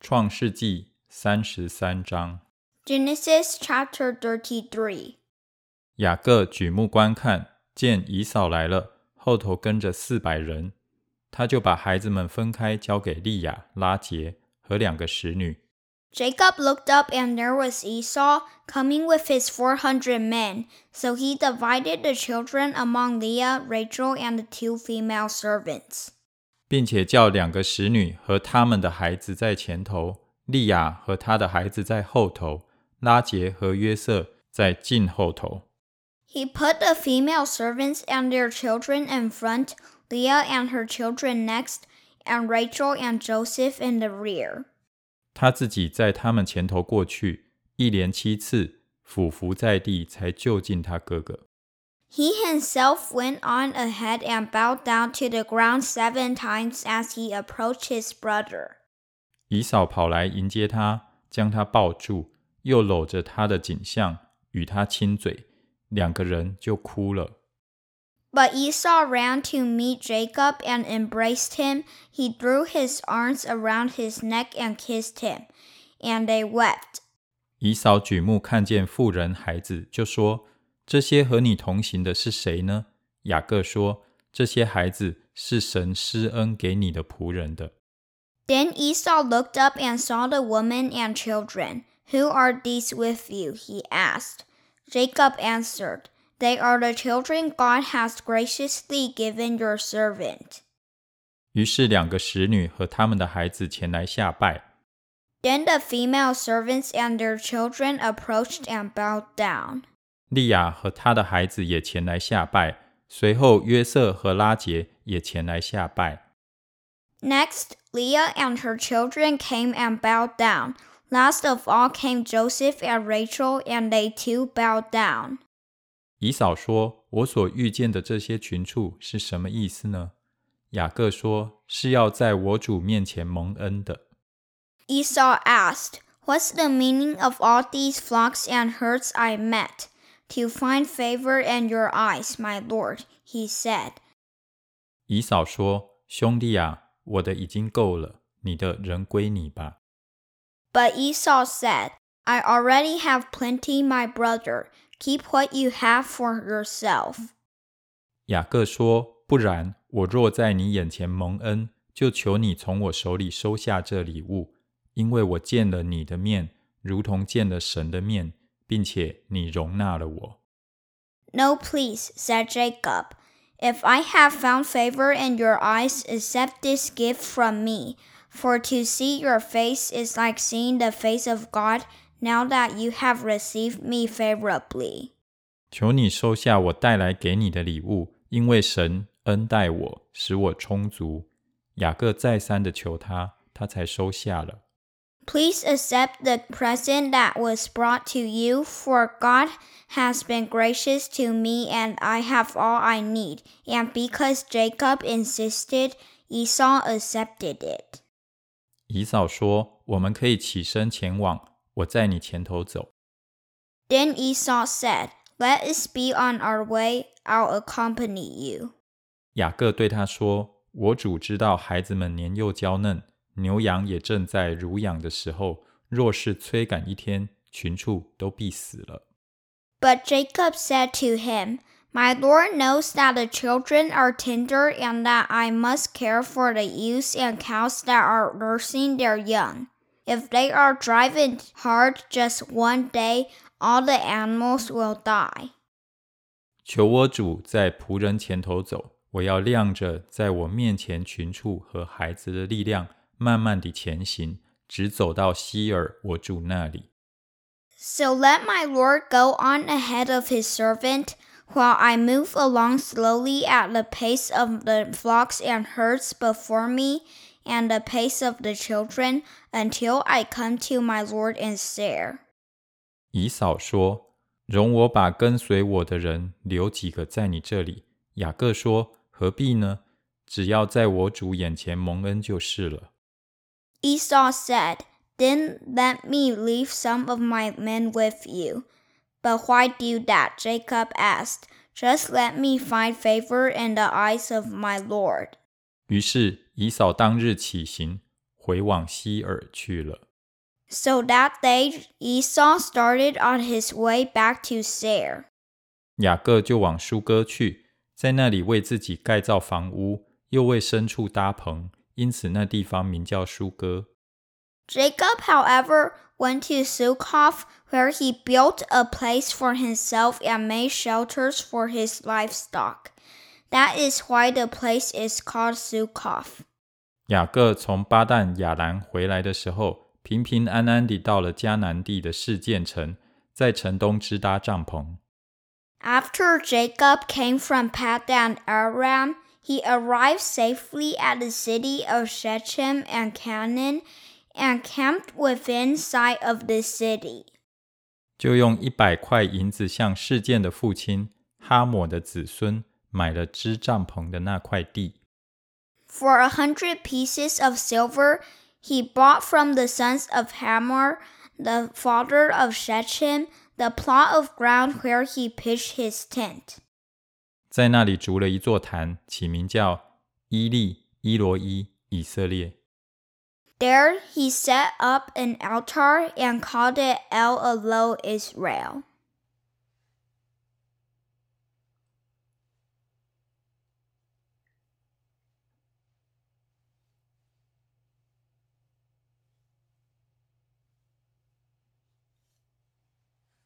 创世纪33章。 Genesis chapter 33. 雅各举目观看，见以扫来了，后头跟着400人，他就把孩子们分开，交给利亚、拉结和2个使女。 Jacob looked up, and there was Esau coming with his 400 men. So he divided the children among Leah, Rachel, and the 2 female servants. 并且叫2个使女和他们的孩子在前头，利亚和他的孩子在后头，拉结和约瑟在近后头。 He put the female servants and their children in front, Leah and her children next, and Rachel and Joseph in the rear. 他自己在他们前头过去，一连7次俯伏在地，才就近他哥哥。 He himself went on ahead and bowed down to the ground 7 times as he approached his brother. 以扫跑来迎接他，将他抱住，又搂着他的颈项，与他亲嘴，2个人就哭了。 But Esau ran to meet Jacob and embraced him. He threw his arms around his neck and kissed him, and they wept. 以扫举目看见妇人孩子，就说：这些和你同行的是谁呢？雅各说：这些孩子是神施恩给你的仆人的。 Then Esau looked up and saw the women and children. Who are these with you? He asked. Jacob answered, They are the children God has graciously given your servant. 于是2个使女和他们的孩子前来下拜。 Then the female servants and their children approached and bowed down. 利亚和他的孩子也前来下拜，随后约瑟和拉结也前来下拜。 Next, Leah and her children came and bowed down. Last of all came Joseph and Rachel, and they too bowed down. 以扫说：我所遇见的这些群畜是什么意思呢？雅各说：是要在我主面前蒙恩的。 Esau asked, What's the meaning of all these flocks and herds I met? To find favor in your eyes, my lord, he said. 以扫说：兄弟啊，我的已经够了，你的仍归你吧。 But Esau said, I already have plenty, my brother. Keep what you have for yourself. 雅各说：不然，我若在你眼前蒙恩，就求你从我手里收下这礼物，因为我见了你的面，如同见了神的面，并且你容纳了我。 No, please, said Jacob. If I have found favor in your eyes, accept this gift from me. For to see your face is like seeing the face of God, now that you have received me favorably. 求你收下我带来给你的礼物，因为神恩待我，使我充足。雅各再三的求他，他才收下了。 Please accept the present that was brought to you, for God has been gracious to me and I have all I need. And because Jacob insisted, Esau accepted it. 以扫说：我们可以起身前往，我在你前头走。 Then Esau said, Let us be on our way, I'll accompany you. 雅各对他说：我主知道孩子们年幼娇嫩，牛羊也正在乳养的时候，若是催赶一天，群畜都必死了。 But Jacob said to him, My Lord knows that the children are tender and that I must care for the ewes and cows that are nursing their young. If they are driven hard just one day, all the animals will die. 求我主在仆人前头走，我要量着在我面前群畜和孩子的力量，慢慢地前行，直走到希尔我主那里。 So let my Lord go on ahead of his servant, while I move along slowly at the pace of the flocks and herds before me, and the pace of the children, until I come to my Lord in Seir. 以扫说：容我把跟随我的人留几个在你这里。雅各说：何必呢？只要在我主眼前蒙恩就是了。 Esau said, Then let me leave some of my men with you. But why do that? Jacob asked. Just let me find favor in the eyes of my Lord. 于是以扫当日起行， 回往西珥去了。 So that day Esau started on his way back to Seir. 雅各就往舒哥去，在那里为自己盖造房屋，又为牲畜搭棚，因此那地方名叫舒哥。 Jacob, however, went to Succoth, where he built a place for himself and made shelters for his livestock. That is why the place is called Succoth. 雅各从巴旦亚兰回来的时候，平平安安地到了迦南地的示剑城，在城东支搭帐篷。 After Jacob came from Paddan Aram, he arrived safely at the city of Shechem and Canaan, and camped within sight of the city. 就用100块银子向示剑的父亲哈抹的子孙买了支帐篷的那块地。 For 100 pieces of silver, he bought from the sons of Hamor, the father of Shechem, the plot of ground where he pitched his tent. 在那里筑了一座坛，起名叫伊利伊罗伊以色列。 There he set up an altar and called it El Elo Israel.